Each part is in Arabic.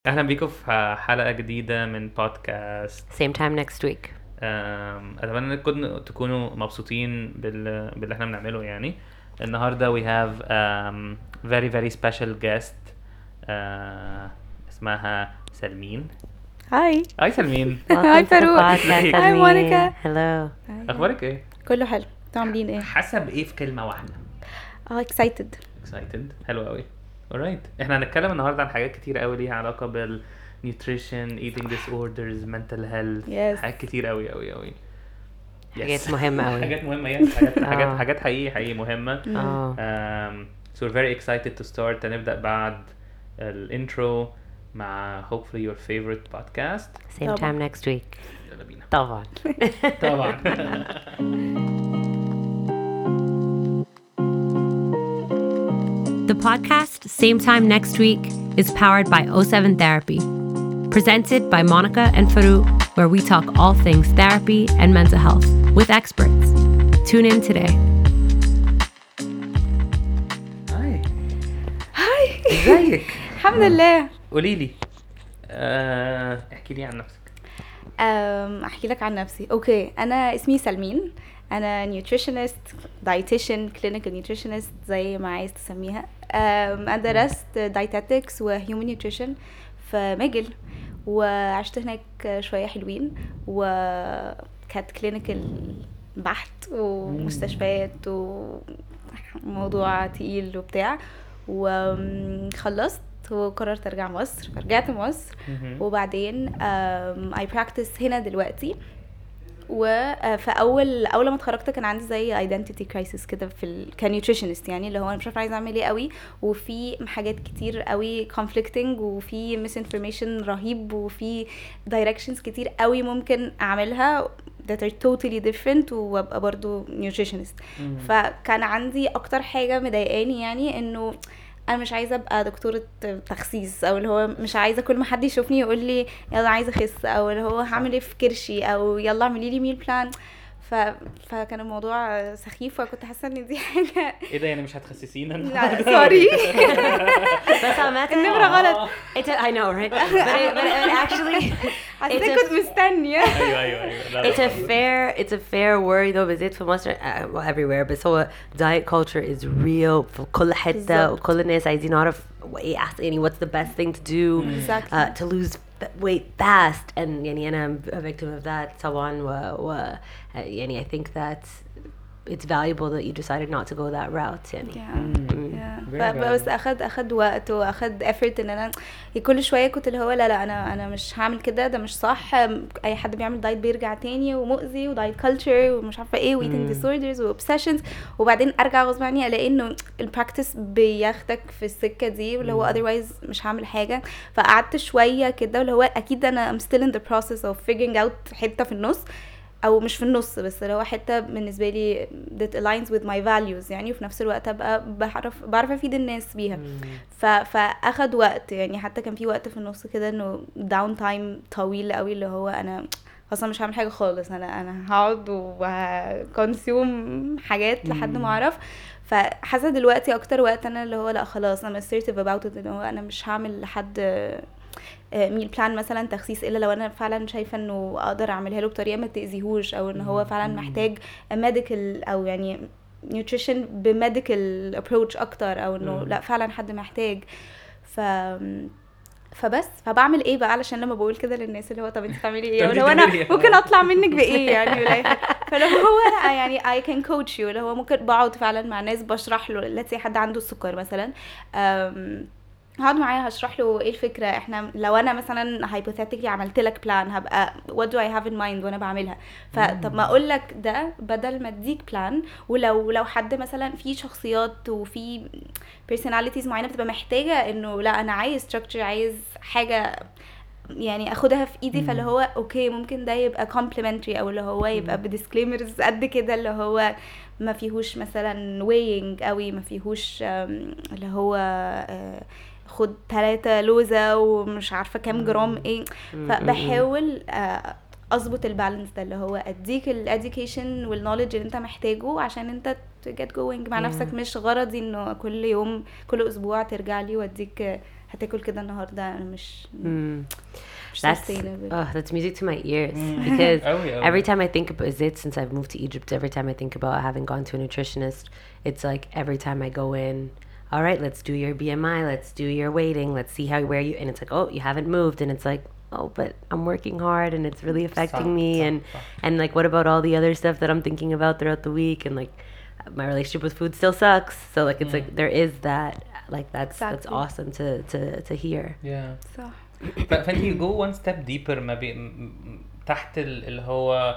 اهلا بيكم في حلقة جديدة من بودكاست. Same time next week. اتمنى انكم تكونوا مبسوطين باللي احنا بنعمله. يعني النهارده we have very very special guest اسمها سلمين. هاي هاي سلمين. هاي Welcome to the فاروق. podcast, ازيك؟ هاي Salmin. مونيكا. Hello. اخبارك ايه؟ كله حلو. انتوا عاملين ايه؟ حسب ايه في كلمة واحدة؟ excited. excited. حلو قوي. alright. احنا هنتكلم النهارده عن حاجات كتير قوي ليها علاقة بال nutrition, eating disorders, mental health. Yes. حاجات كتير قوي قوي قوي. حاجات مهمة قوي. حاجات مهمة. يس. حاجات حقيقي مهمة. So we're very excited to start. هنبدأ بعد الانترو مع hopefully your favorite podcast. Same time next week. يلا بينا. طبعا. طبعا. The podcast, Same Time Next Week, is powered by O7 Therapy. Presented by Monica and Farouk, where we talk all things therapy and mental health with experts. Tune in today. هاي. ازيك؟ الحمد لله. قولي لي احكي لي عن نفسك. احكي لك عن نفسي. اوكي، انا اسمي سلمين. انا نيوتريشنست، دايتيشن، كلينيكال نيوتريشنست زي ما عايز تسميها. انا درست دايتاتكس وهيومن نيوتريشن في ماجل، وعشت هناك شويه حلوين، وكانت كلينيكال بحت ومستشفيات وموضوع تقيل وبتاع، وخلصت وقررت ارجع مصر. فرجعت مصر وبعدين I practice هنا دلوقتي. وفاول ما اتخرجت كان عندي زي identity crisis كده في كنيوتريشنست، يعني اللي هو انا مش عارفه عايزه اعمل ايه قوي، وفي حاجات كتير قوي conflicting، وفي misinformation رهيب، وفي directions كتير قوي ممكن اعملها that are totally different، وابقى برضو nutritionist. فكان عندي اكتر حاجه مضايقاني يعني انه انا مش عايزه ابقى دكتوره تخسيس، او اللي هو مش عايزه كل ما حد يشوفني يقول لي يلا عايزه اخس، او اللي هو هعمل ايه في كرشي، او يلا اعملي لي ميل بلان. فكان الموضوع سخيف، وكنت حاسه ان دي حاجه ايه ده؟ يعني مش هتخسسينا؟ لا سوري. بس عامة النمره غلط. I know, right? But actually حسيت كنت مستنيه. ايوه. it's a fair worry though, بالذات في مصر well, everywhere. بس هو diet culture is real في كل حتة، بالظبط. وكل الناس عايزين نعرف ايه احسن، يعني what's the best thing to do Exactly. to lose weight fast. and يعني أنا a victim of that طبعا. يعني I think that it's valuable that you decided not to go that route. يعني بس اخد وقت واخد effort ان انا كل شويه كنت اللي هو لا انا مش هعمل كده، ده مش صح. اي حد بيعمل دايت بيرجع تاني ومؤذي، ودايت كلتشر ومش عارفه ايه، وايتنج ديسوردرز واوبسيشنز، وبعدين ارجع غصب عني الاقي انه البراكتس بياخدك في السكه دي، واللي هو otherwise مش هعمل حاجه. فقعدت شويه كده، واللي هو اكيد انا I'm still in the process of figuring out حته في النص، او مش في النص بس اللي هو حته بالنسبه لي that aligns with my values يعني، وفي نفس الوقت ابقى بعرف افيد الناس بيها. فاخد وقت يعني، حتى كان في وقت في النص كده انه داون تايم طويل قوي، اللي هو انا اصلا مش هعمل حاجه خالص، انا هقعد وهكونسيوم حاجات لحد ما اعرف. فحاسه دلوقتي اكتر وقت انا اللي هو لا خلاص انا assertive about it، اللي هو انا مش هعمل لحد ميل بلان مثلا تخسيس الا لو انا فعلا شايفه انه اقدر اعملها له بطريقه ما تاذيهوش، او ان هو فعلا محتاج ميديكال، او يعني نيوتريشن بميديكال ابروتش اكتر، او انه لا فعلا حد محتاج. فبس فبعمل ايه بقى علشان لما بقول كده للناس اللي هو طب انت بتعملي ايه، ولا هو انا ممكن اطلع منك بايه يعني، ولا فلو هو يعني I can coach you، اللي هو ممكن بقعد فعلا مع ناس بشرح له، let's say حد عنده السكر مثلا، هقعد معايا هشرح له ايه الفكره. احنا لو انا مثلا hypothetically عملت لك بلان، هبقى what do I have in mind وانا بعملها. فطب ما اقول لك ده بدل ما اديك بلان. ولو حد مثلا في شخصيات وفي personalities معينه بتبقى محتاجه انه لا انا عايز structure، عايز حاجه يعني اخدها في ايدي، فاللي هو اوكي ممكن ده يبقى complimentary، او اللي هو يبقى بديسكليمرز قد كده، اللي هو ما فيهوش مثلا weighing قوي، ما فيهوش اللي هو خد 3 لوزة ومش عارفة كام جرام ايه. فبحاول اظبط البالانس ده، اللي هو اديك الاديوكيشن والنوليدج اللي انت محتاجه عشان انت get going مع نفسك. مش غرضي انه كل يوم كل اسبوع ترجع لي واديك هتاكل كده النهارده انا مش that's music to my ears because every time I think about it since I've moved to Egypt, every time I think about having gone to a nutritionist, it's like every time I go in, all right, let's do your BMI, let's do your weighting, let's see where you, and it's like, oh, you haven't moved, and it's like, oh, but I'm working hard and it's really affecting me, and like, what about all the other stuff that I'm thinking about throughout the week, and like my relationship with food still sucks, so like it's like there is that, like that's awesome to hear. صح. فانت you go one step deeper ما تحت اللي هو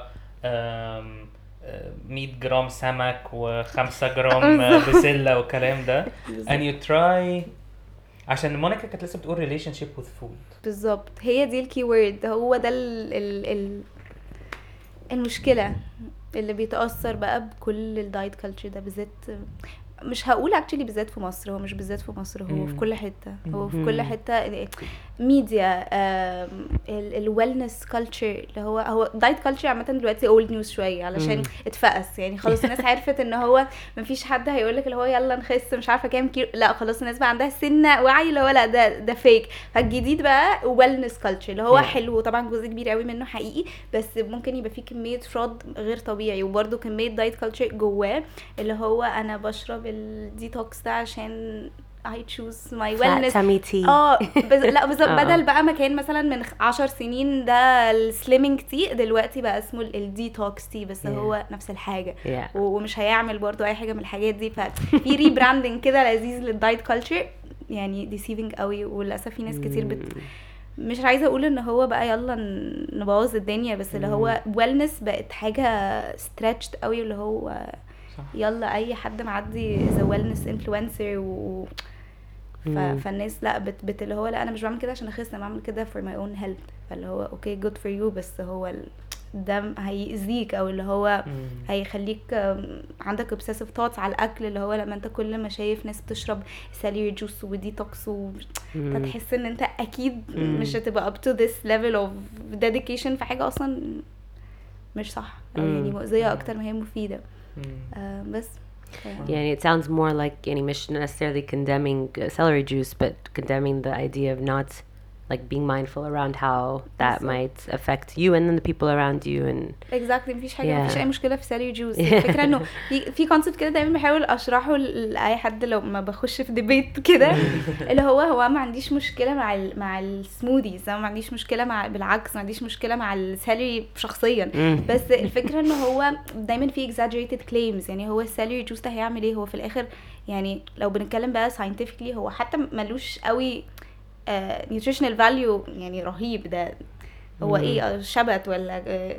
100 جرام سمك و5 جرام بسلة والكلام ده and you try. عشان مونيكا كانت لسه بتقول relationship with food بالظبط، هي دي الكي وورد، هو ده المشكلة اللي بيتأثر بقى بكل الدايت كلتشر ده بالذات. مش هقول اكشلي بالذات في مصر، هو مش بالذات في مصر، هو في كل حته، هو في كل حته ميديا. الويلنس كلتشر اللي هو دايت كلتشر عامه دلوقتي اولد نيوز شويه علشان اتفقس يعني، خلاص الناس عرفت ان هو مفيش حد هيقولك اللي هو يلا نخس مش عارفه كام كيلو، لا خلاص الناس بقى عندها سنه وعي اللي هو لا ده فيك. فالجديد بقى ويلنس كلتشر اللي هو حلو، طبعا جزء كبير قوي منه حقيقي، بس ممكن يبقى فيه كميه فراد غير طبيعي، وبرده كميه دايت كلتشر جواه اللي هو انا بشرب الديتوكس ده عشان I choose my wellness. لا بالظبط. بدل بقى ما كان مثلا من 10 سنين ده السليمينج تي، دلوقتي بقى اسمه الديتوكس تي، بس هو نفس الحاجه ومش هيعمل برضو اي حاجه من الحاجات دي. ففي ريبراندنج كده لذيذ للدايت كلتشر يعني ديسيفينج قوي، وللاسف في ناس كتير مش عايزه اقول ان هو بقى يلا نبوظ الدنيا، بس اللي هو wellness بقت حاجه stretched قوي، اللي هو يلا اي حد معدي ذا ويلنس انفلونسر فالناس لا اللي هو لا انا مش بعمل كده عشان اخس، انا بعمل كده for my own health. فاللي هو اوكي good for you، بس هو ده هيأذيك او اللي هو هيخليك عندك obsessive thoughts على الاكل، اللي هو لما انت كل ما شايف ناس بتشرب سالير جوس وديتوكس فتحس ان انت اكيد مش هتبقى up to this level of dedication في حاجه اصلا مش صح، او يعني مؤذيه اكتر ما هي مفيده. بس يعني it sounds more like يعني مش necessarily condemning celery juice, but condemning the idea of not like being mindful around how that might affect you and then the people around you. And exactly مفيش حاجه مفيش اي مشكله في celery juice. الفكره انه في concept كده دايما بحاول اشرحه لاي حد لو ما بخش في ديبيت كده اللي هو ما عنديش مشكله مع السموذيز، ما عنديش مشكله بالعكس ما عنديش مشكله مع السالري شخصيا، بس الفكره انه هو دايما في exaggerated claims. يعني هو السالري جوس ده هيعمل ايه؟ هو في الاخر يعني لو بنتكلم بقى scientifically هو حتى ملوش قوي nutritional value يعني رهيب. ده هو ايه شبت ولا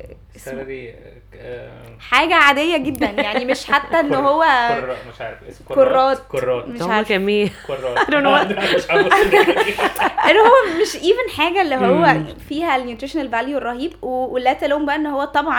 حاجة عادية جدا يعني، مش حتى انه هو مش عارف اسمه كرات مش عارف كرات اللي هو مش even حاجة اللي هو فيها النيوتريشنال فاليو الرهيب، ولا تلوم بقى ان هو طبعا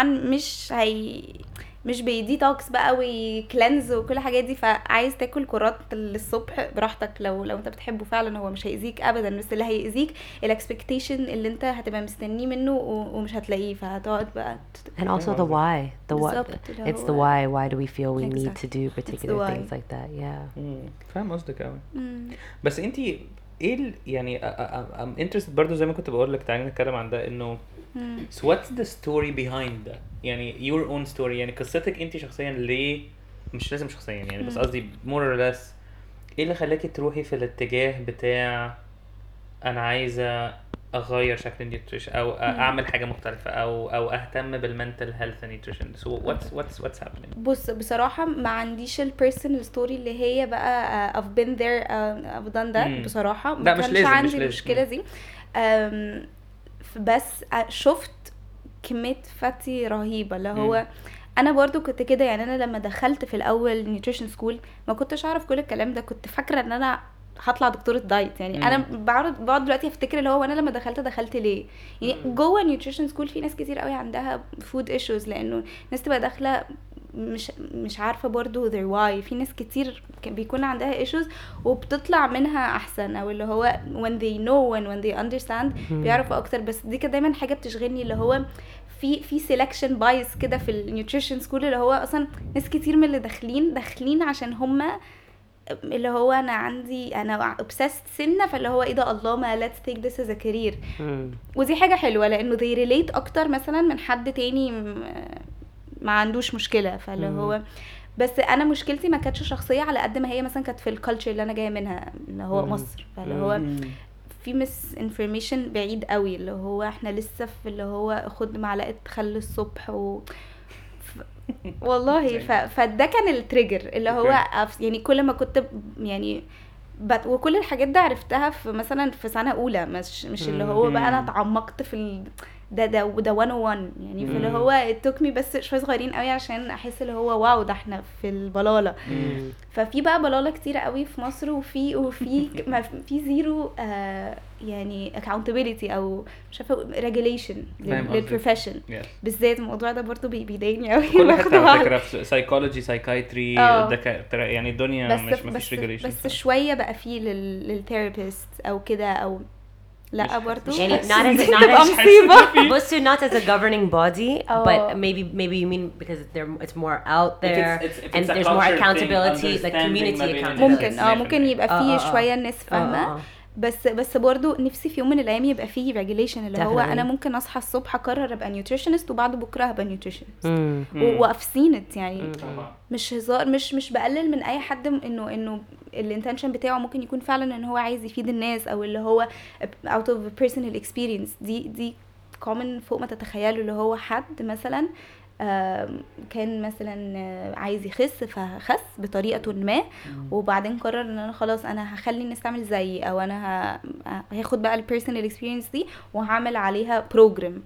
مش بيديتوكس بقى وكلينز وكل حاجات دي. فعايز تاكل كرات الصبح براحتك لو انت بتحبه فعلا، هو مش هيأذيك ابدا، بس اللي هيأذيك الاكسبكتيشن اللي انت هتبقى مستنيه منه ومش هتلاقيه، فهتقعد بقى and also the why it's the why do we feel we need to do particular things like that. فاهم قصدك قوي. بس انتي ايه يعني I'm interested برضو زي ما كنت بقول لك تعالي نتكلم عن ده، انه so what's the story behind that؟ يعني your own story، يعني قصتك انتي شخصيا ليه، مش لازم شخصيا يعني بس قصدي more or less ايه اللي خلاكي تروحي في الاتجاه بتاع انا عايزة اغير شكل النيوتريشن او اعمل حاجة مختلفة او اهتم بالمنتل هيلث نيوتريشن. so what's happening؟ بص بصراحة ما عنديش البيرسونال ستوري اللي هي بقى I've been there I've done that بصراحة ما كانش عندي المشكلة دي. بس شفت كمية فاتي رهيبة اللي هو انا برضو كنت كده يعني. انا لما دخلت في الاول نيوتريشن سكول ما كنتش اعرف كل الكلام ده، كنت فاكرة ان انا هطلع دكتورة دايت يعني. انا بقعد دلوقتي افتكر اللي هو انا لما دخلت ليه يعني. جوه نيوتريشن سكول في ناس كتير قوي عندها فود ايشوز، لانه ناس تبقى داخله مش عارفه برضو their why. في ناس كتير بيكون عندها ايشوز وبتطلع منها احسن، او اللي هو when they know and when they understand بيعرفوا اكتر. بس دي كده دايما حاجه بتشغلني، اللي هو في selection bias كده في النيوتريشن سكول، اللي هو اصلا ناس كتير من اللي داخلين عشان هم اللي هو انا obsessed سنة، فاللي هو ايه ده الله ما let's take this as a career. ودي حاجة حلوة لانه they relate اكتر مثلا من حد تاني ما عندوش مشكلة. فاللي هو بس انا مشكلتي ما كانتش شخصية على قد ما هي مثلا كانت في الكالتشر اللي انا جاية منها اللي هو مصر. فاللي هو في مس انفورميشن بعيد قوي، اللي هو احنا لسه في اللي هو خد معلقة خل الصبح والله فده كان التريجر اللي هو يعني كل ما كنت يعني وكل الحاجات ده عرفتها في مثلا في سنة اولى، مش اللي هو بقى انا اتعمقت في ده 101 يعني. فاللي هو التوكمي بس شوية صغيرين قوي عشان احس اللي هو واو ده احنا في البلالة. ففي بقى بلالة كتيرة قوي في مصر وفي في زيرو يعني accountability او مش عارفه regulation للبروفيشن بالذات. الموضوع ده برضو بيضايقني قوي. كل حته على فكره في سايكولوجي سايكايتري يعني الدنيا مفيش regulation بس شويه بقى في للثيرابيست او كده او لا برضو يعني not as a governing body but maybe you mean because it's more out there and there's more accountability like community accountability. ممكن يبقى فيه شويه الناس فاهمه. بس برضو نفسي في يوم من الايام يبقى فيه ريجوليشن اللي هو انا ممكن اصحى الصبح اقرر ابقى نيوتريشنست وبعد بكره هبقى نيوتريشنست وافسينت يعني. مش هزار، مش بقلل من اي حد انه الانتنشن بتاعه ممكن يكون فعلا ان هو عايز يفيد الناس او اللي هو out of personal experience. دي common فوق ما تتخيلوا. اللي هو حد مثلا كان مثلا عايز يخس فخس بطريقه ما وبعدين قرر ان انا خلاص انا هخلي الناس تعمل زيي او انا هاخد بقى البيرسونال اكسبيرينس دي وهعمل عليها بروجرام.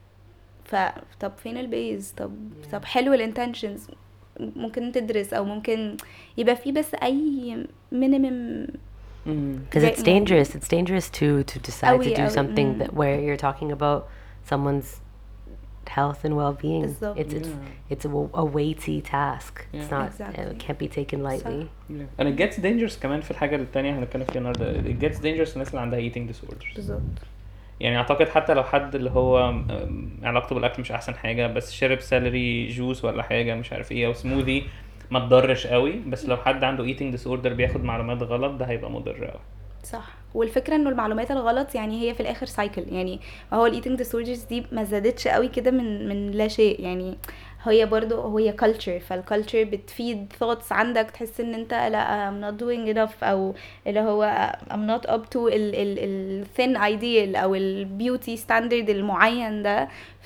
طب فين البيز؟ طب حلو الانتنشنز ممكن تدرس او ممكن يبقى فيه بس اي minimum because it's dangerous to decide to do something that where you're talking about someone's health and well-being. It's a weighty task. It's not it can't be taken lightly. And it gets dangerous كمان في الحاجه الثانيه هنتكلم فيها النهارده. It gets dangerous الناس اللي عندها eating disorders. بالظبط. يعني اعتقد حتى لو حد اللي هو علاقته بالاكل مش احسن حاجه بس شرب سالري جوس ولا حاجه مش عارف ايه او سموذي ما تضرش قوي. بس لو حد عنده eating disorder بياخد معلومات غلط ده هيبقى مضر قوي. صح. والفكره انه المعلومات الغلط يعني هي في الاخر سايكل. يعني هو الايتنج ديسوردرز دي ما زادتش قوي كده من لا شيء. يعني هي برضو هي كلتشر. فالكلتشر بتفيد ثوتس عندك تحس ان انت لا I'm not doing enough او اللي هو I'm not up to ال thin ideal او البيوتي ستاندرد المعين ده.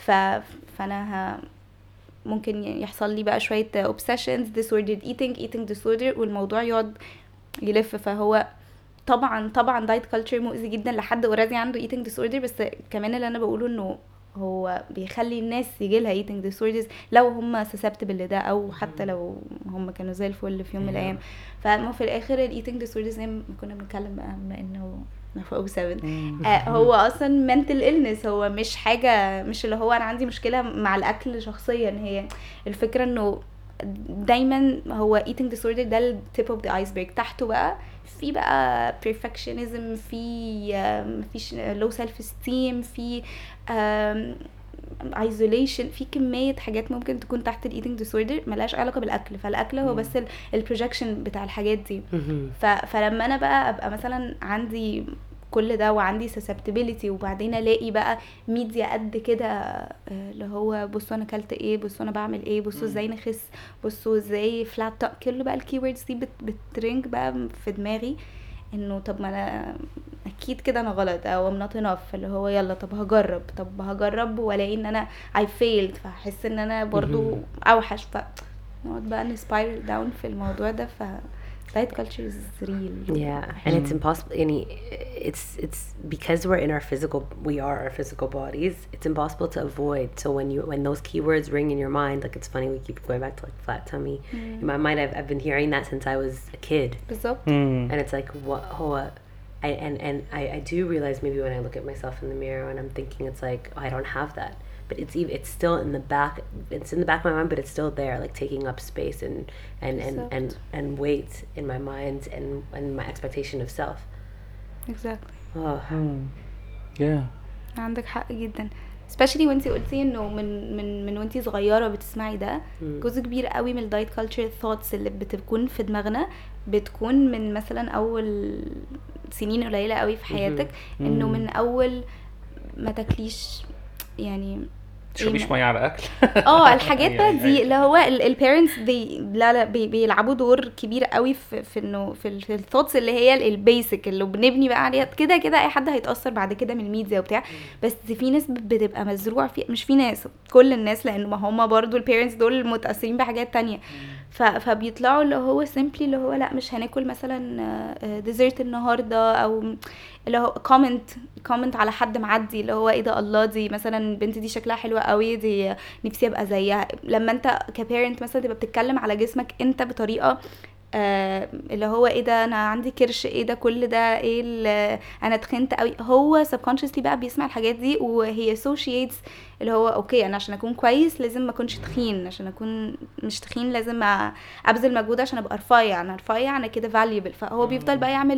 فانا ممكن يحصل لي بقى شويه obsessions disordered eating disorder والموضوع يقعد يلف. فهو طبعا دايت كلتشر مؤذي جدا لحد اوريدي عنده eating disorder. بس كمان اللي انا بقوله انه هو بيخلي الناس يجيلها eating disorders لو هم susceptible لده او حتى لو هم كانوا زي الفل في يوم من الايام. فما في الاخر eating disorders زي ما كنا بنتكلم بقى بما انه في 07 هو اصلا mental illness. هو مش حاجه مش اللي هو انا عندي مشكله مع الاكل شخصيا. هي الفكره انه دايما هو eating disorder ده ال tip of the iceberg. تحته بقى في بقى perfectionism فيش low self esteem في isolation في كمية حاجات ممكن تكون تحت ال eating disorder ملهاش علاقة بالأكل. فالأكل هو بس ال projection بتاع الحاجات دي. فلما أنا بقى أبقى مثلا عندي كل ده وعندي susceptibility وبعدين الاقي بقى ميديا قد كده اللي هو بصوا انا اكلت ايه بصوا انا بعمل ايه بصوا ازاي نخس بصوا ازاي فلات كل بقى الكيوردز دي بترنج بقى في دماغي انه طب ما انا اكيد كده انا غلط او I'm not enough. اللي هو يلا طب هجرب والاقي ان انا I failed فاحس ان انا برضو اوحش فنقعد بقى نسبايرل داون في الموضوع ده. diet culture is real. Yeah, and it's impossible. It's because we are our physical bodies. It's impossible to avoid. So when those keywords ring in your mind, like it's funny we keep going back to like flat tummy. In my mind, I've been hearing that since I was a kid. And it's like I do realize maybe when I look at myself in the mirror and I'm thinking it's like I don't have that. But it's still in the back. It's in the back of my mind, but it's still there, like taking up space and weight in my mind and my expectation of self. Exactly. Yeah. عندك حق جدا. especially وانتي قلتي انه من وانتي صغيره بتسمعي ده جزء كبير قوي من الدايت كلتشر thoughts اللي بتكون في دماغنا بتكون من مثلا اول سنين قليله قوي في حياتك انه من اول ما تاكليش يعني تشربيش ميه على اكل الحاجات بقى دي اللي هو البيرنتس لا بيلعبوا دور كبير قوي في انه في الثوتس اللي هي البيسك اللي بنبني بقى عليها كده اي حد هيتاثر بعد كده من الميديا وبتاع. بس في ناس بتبقى مزروع في، مش في ناس، كل الناس، لانه ما هم برضو البيرنتس دول متاثرين بحاجات تانية. فبيطلعوا اللي هو سيمبلي اللي هو لا مش هناكل مثلا ديزرت النهارده، او اللي هو كومنت على حد معدي اللي هو ايه ده، الله دي مثلا البنت دي شكلها حلوه قوي، دي نفسي ابقى زيها. لما انت كبيرنت مثلا تبقى بتتكلم على جسمك انت بطريقه اللي هو ايه ده انا عندي كرش، ايه ده كل ده، ايه انا تخنت قوي، هو subconsciously بقى بيسمع الحاجات دي وهي associates اللي هو اوكي انا عشان اكون كويس لازم ما اكونش تخين، عشان اكون مش تخين لازم ابذل مجهود عشان ابقى رفيع، انا كده valuable. فهو بيفضل بقى يعمل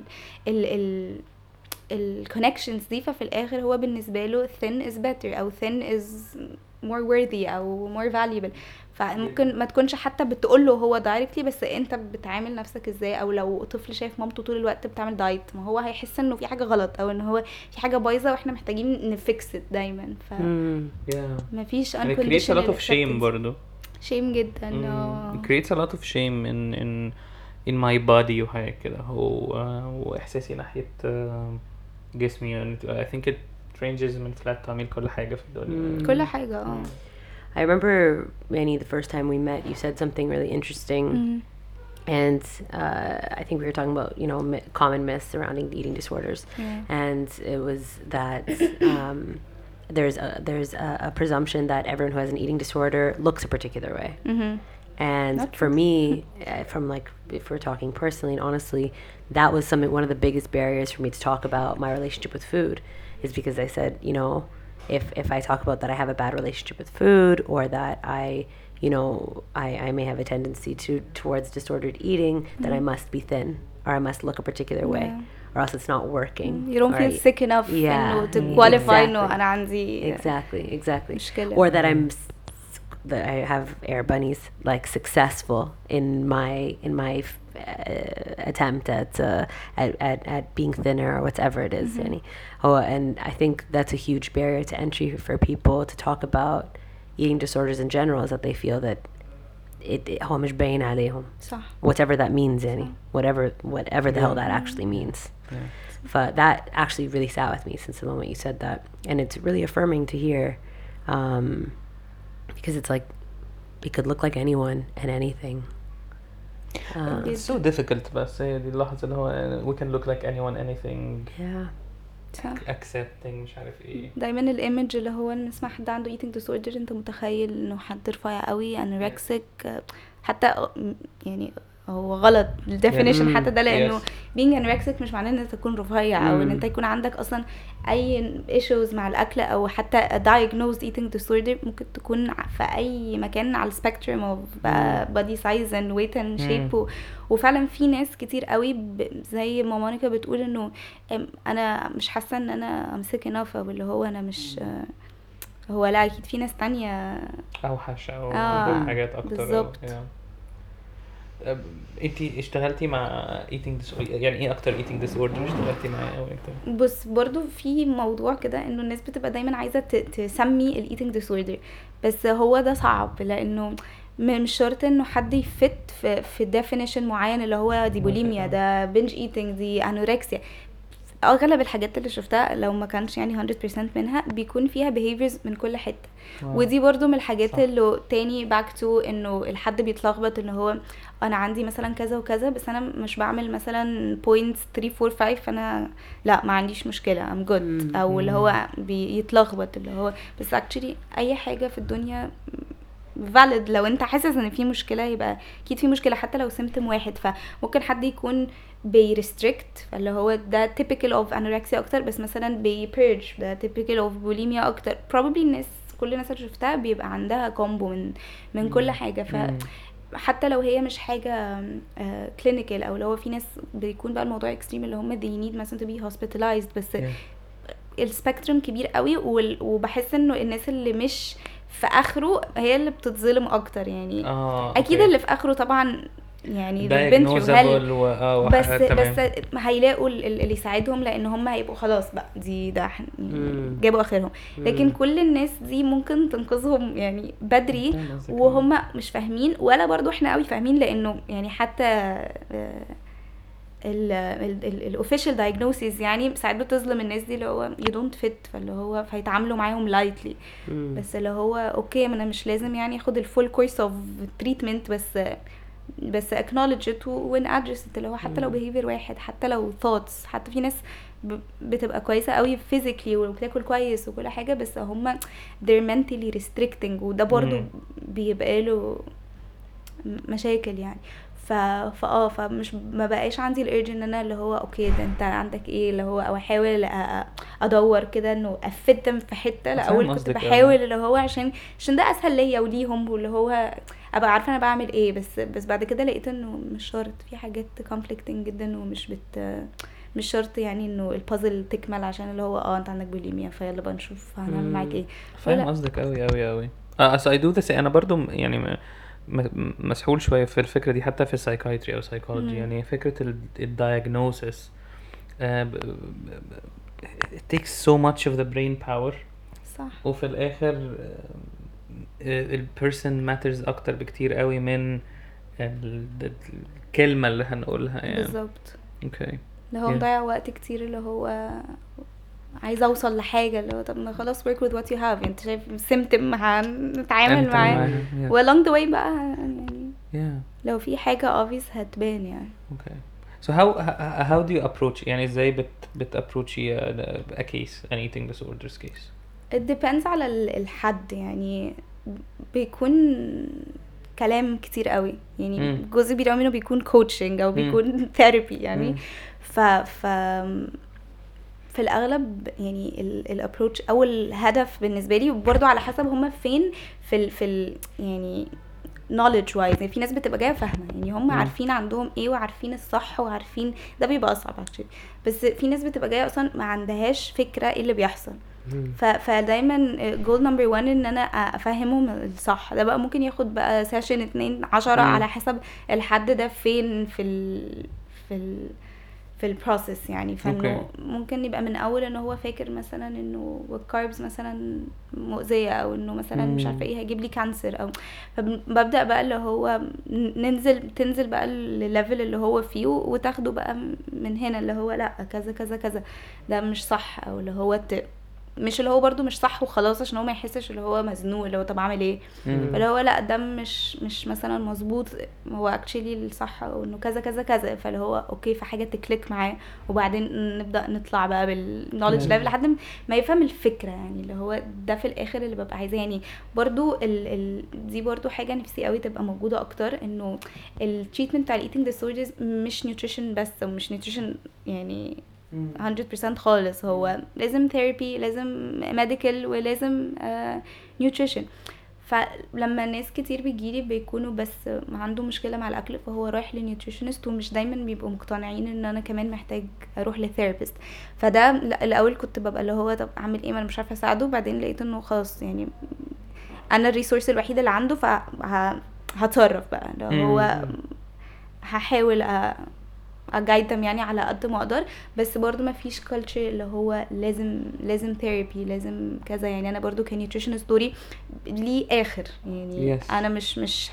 ال الكونكشنز دي. ففي الاخر هو بالنسبه له thin is better او thin is more worthy او more valuable. فممكن ما تكونش حتى بتقول له هو دايركتلي، بس انت بتعامل نفسك ازاي. او لو طفل شايف مامته طول الوقت بتعمل دايت، ما هو هيحس انه في حاجه غلط او ان هو في حاجه بايظه واحنا محتاجين نفكس دايما. ف ما فيش unconditional lot of shame برضو shame جدا. it creates a lot of shame in my body وحاجه كده. هو احساسي ناحيه جسمي I think it ranges من flat تعمل كل حاجه في الدنيا كل حاجه. I remember, Manny, the first time we met, you said something really interesting. And I think we were talking about, common myths surrounding eating disorders. And it was that there's a presumption that everyone who has an eating disorder looks a particular way. And for me, from if we're talking personally and honestly, that was one of the biggest barriers for me to talk about my relationship with food, is because I said, if I talk about that I have a bad relationship with food, or that I may have a tendency towards disordered eating, then I must be thin, or I must look a particular way, or else it's not working. You don't feel sick enough to qualify no أنا عندي exactly or that that I have air bunnies successful in my attempt at being thinner or whatever it is. And I think that's a huge barrier to entry for people to talk about eating disorders in general, is that they feel that هو مش باين عليهم. صح. Whatever that means, whatever the hell that actually means. But that actually really sat with me since the moment you said that, and it's really affirming to hear, because it's like it could look like anyone and anything. It's so difficult, بس هي دي اللحظة اللي هو we can look like anyone anything. accepting مش عارف ايه. دايما الايمج اللي هو نسمع حد عنده eating disorder انت متخيل انه حد رفيع قوي anorexic، حتى يعني هو غلط الديفينيشن حتى ده، لانه being anorexic مش معناه ان انت تكون رفيع او ان انت يكون عندك اصلا اي issues مع الاكل، او حتى diagnosed eating disorder ممكن تكون في اي مكان على spectrum of body size and weight and shape. وفعلا في ناس كتير قوي زي ما مونيكا بتقول انه انا مش حاسه ان انا امسك enough، او اللي هو انا مش هو لا اكيد في ناس تانية اوحش او حاجات اكتر بالظبط. انتي اشتغلتي مع eating disorder، يعني ايه اكتر eating disorder اشتغلتي معاه او اكتر؟ بص برضو في موضوع كده انه الناس بتبقى دايما عايزه تسمي ال eating disorder، بس هو ده صعب لانه مش شرط انه حد يفت في definition معين اللي هو دي بوليميا، ده binge eating، دي انوركسيا. اغلب الحاجات اللي شفتها لو ما كانش يعني 100% منها بيكون فيها behaviors من كل حته. ودي برضو من الحاجات اللي تاني back to انه الحد بيتلخبط انه هو انا عندي مثلا كذا وكذا بس انا مش بعمل مثلا points 3 4 5 فانا لا ما عنديش مشكله I'm good، او اللي هو بيتلخبط اللي هو بس actually اي حاجه في الدنيا valid. لو انت حاسس ان في مشكله يبقى اكيد في مشكله حتى لو سيمتوم واحد. فممكن حد يكون بيرستريكت فاللي هو ده typical of anorexia اكتر، بس مثلا بيبيرج ده typical of bulimia اكتر. probably كل الناس اللي شفتها بيبقى عندها كومبو من كل حاجه. حتى لو هي مش حاجه clinical، او لو في ناس بيكون بقى الموضوع extreme اللي هم they need مثلا to be hospitalized، بس السبيكترم كبير قوي. وبحس انه الناس اللي مش في اخره هي اللي بتتظلم اكتر يعني. اكيد اللي في اخره طبعا يعني البنت بس هيلاقوا اللي يساعدهم لان هم هيبقوا خلاص بقى ده جابوا اخرهم. لكن كل الناس دي ممكن تنقذهم يعني بدري وهم مش فاهمين ولا برضو احنا قوي فاهمين، لانه يعني حتى الاوفيشال دايجنوسيس يعني ساعات بتظلم الناس دي اللي هو you don't fit، فاللي هو فيتعاملوا معاهم لايتلي. بس اللي هو اوكي انا مش لازم يعني اخد الفول كورس اوف تريتمنت، بس acknowledge it and address it، اللي هو حتى لو behavior واحد، حتى لو thoughts، حتى في ناس بتبقى كويسة قوي physically وبتاكل كويس وكل حاجة بس هم they're mentally restricting، وده برضو بيبقى له مشاكل يعني. فمش ما بقاش عندي الارج ان انا اللي هو اوكي ده انت عندك ايه اللي هو، او احاول ادور كده انه افدهم في حته. لا اول كنت بحاول اللي هو عشان ده اسهل ليا وليهم، واللي هو ابقى عارفه انا بعمل ايه. بس بعد كده لقيت انه مش شرط، في حاجات conflicting جدا ومش مش شرط يعني انه البازل تكمل عشان اللي هو انت عندك بوليميا فيلا بقى نشوف هنعمل معاك ايه. فاهم قصدك قوي قوي قوي. I do this. انا برضو يعني مسحول شويه في الفكره دي حتى في السايكايتري او سايكولوجي. يعني فكره الدايجنوسيس it takes so much of the brain power. صح. وفي الاخر البيرسون ماترز اكتر بكتير قوي من الكلمه اللي هنقولها يعني. بالظبط. اوكي. اللي هو مضيع وقت كتير اللي هو عايزه اوصل لحاجه اللي هو طب خلاص work with what you have. انت شايف سيمتم هنتعامل معاه along the way بقى يعني لو في حاجه obvious هتبان يعني. اوكي. So how do you approach يعني ازاي approach a case, an eating disorders case? It depends على الحد يعني. بيكون كلام كتير قوي يعني جزء كبير منه بيكون coaching او بيكون therapy يعني. في الاغلب يعني الابروتش او الهدف بالنسبه لي برضو على حسب هما فين في يعني knowledge wise. يعني في ناس بتبقى جايه فاهمه يعني هم عارفين عندهم ايه وعارفين الصح وعارفين ده بيبقى اصعب actually. بس في ناس بتبقى جايه اصلا ما عندهاش فكره ايه اللي بيحصل. فدايما goal number 1 ان انا افهمهم الصح. ده بقى ممكن ياخد بقى سيشن 2 10 على حسب الحد ده فين في البروسيس يعني. فانه ممكن يبقى من اول ان هو فاكر مثلا انه الكاربز مثلا مؤذيه او انه مثلا مش عارفه ايه هيجيب لي كانسر، او فببدا بقى اللي هو تنزل بقى الليفل اللي هو فيه وتاخده بقى من هنا اللي هو لا كذا كذا كذا ده مش صح، او اللي هو مش اللي هو برضو مش صح وخلاص عشان هو ما يحسش اللي هو مزنوق اللي هو طب اعمل ايه. فاللي هو لا ده مش مثلا مظبوط، هو اكشلي الصح او انه كذا كذا كذا. فاللي هو اوكي في حاجه تكليك معاه وبعدين نبدا نطلع بقى بالنوليدج ليفل لحد ما يفهم الفكره يعني. اللي هو ده في الاخر اللي ببقى عايزاه يعني. برضو دي برضو حاجه نفسي قوي تبقى موجوده اكتر، انه التريتمنت بتاع الايتنج ديسوردرز مش نيوتريشن بس، ومش نيوتريشن يعني 100% خالص. هو لازم ثيرابي، لازم ميديكال، ولازم نيوتريشن. فلما ناس كتير بيجيلي بيكونوا بس عنده مشكله مع الاكل فهو رايح لنيوتريشنست، ومش دايما بيبقوا مقتنعين ان انا كمان محتاج اروح لثيرابيست. فده الاول كنت ببقى اللي هو طب اعمل ايه، ما انا مش عارفه اساعده. بعدين لقيت انه خلاص يعني انا الريسورس الوحيده اللي عنده فهتصرف بقى اللي هو هحاول اجايدهم يعني على قد ما اقدر. بس برضو ما فيش كلتشر اللي هو لازم ثيرابي لازم كذا يعني. انا برضو كنيوتريشنست دوري ليه اخر يعني. انا مش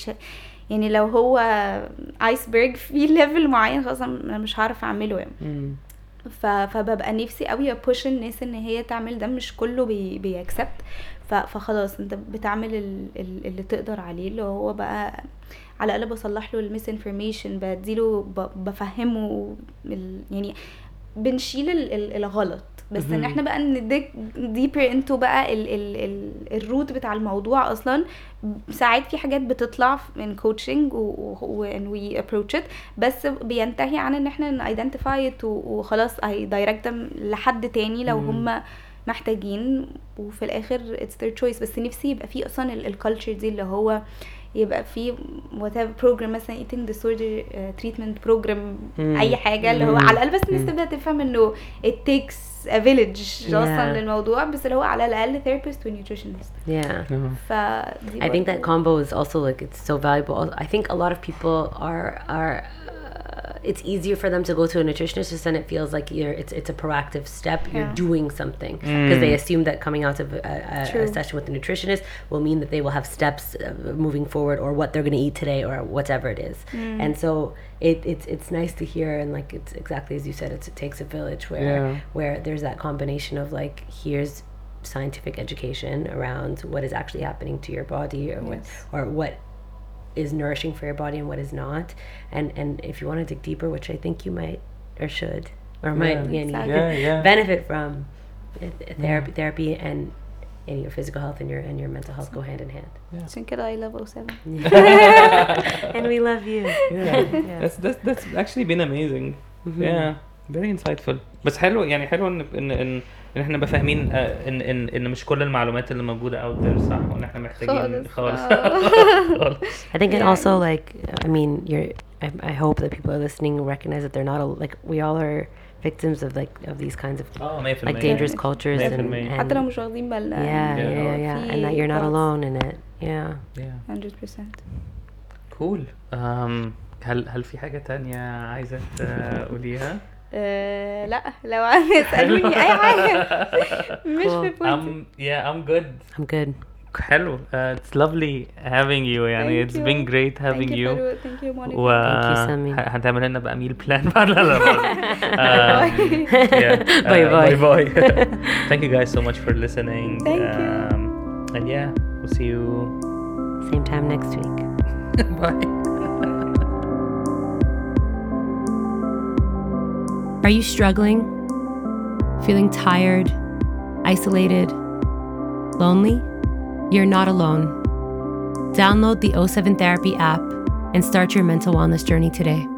يعني لو هو ايسبرج في ليفل معين خلاص انا مش هعرف اعمله يعني. فببقى نفسي قوي ابوش الناس ان هي تعمل ده. مش كله بيأكسبت. فخلاص انت بتعمل اللي تقدر عليه، اللي هو بقى على الاقل بصلح له الميس انفورميشن، بديله بفهمه يعني بنشيل الغلط. بس ان احنا بقى نديك ديبر انتو بقى الروت بتاع الموضوع. اصلا ساعات في حاجات بتطلع من كوتشنج and we approach it، بس بينتهي عن ان احنا identify it وخلاص هيدايركت لحد تاني لو هم محتاجين. وفي الاخر it's their choice. بس نفسي يبقى فيه اصلا الكالتشر دي اللي هو يبقى في whatever program مثلا eating disorder treatment program اي حاجه اللي هو على الاقل بس الناس تبدا تفهم انه it takes a village اصلا للموضوع بس اللي هو على الاقل therapist و nutritionist. I think that combo is also like it's so valuable. I think a lot of people are it's easier for them to go to a nutritionist just then it feels like it's a proactive step. You're doing something because they assume that coming out of a session with a nutritionist will mean that they will have steps moving forward or what they're going to eat today or whatever it is. And so it's nice to hear, and like it's exactly as you said, it takes a village where there's that combination of like here's scientific education around what is actually happening to your body or what is nourishing for your body and what is not, and if you want to dig deeper, which I think you might or should or might benefit from, therapy and your physical health and your mental health go hand in hand. عشان كده I love O7 and we love you. That's actually been amazing. Very insightful. بس حلو يعني حلو ان احنا نبقى فاهمين ان مش كل المعلومات اللي موجوده out there صح وان احنا محتاجين خالص. I think and also like I mean I hope that people are listening recognize that they're not like we all are victims of like of these kinds of like dangerous cultures and حتى لو مش واخدين بالنا and that you're not alone in it. 100%. cool. هل في حاجه تانية عايزه تقوليها؟ لا لو تسألوني اي حاجه مش في بوينت. I'm good. حلو. It's lovely having you يعني. It's been great having you. Thank you Monica. هنعمل لنا بقى meal plan بعد لا bye. Thank you guys so much for listening. Thank you. And we'll see you same time next week. Bye. Are you struggling? Feeling tired? Isolated? Lonely? You're not alone. Download the O7 Therapy app and start your mental wellness journey today.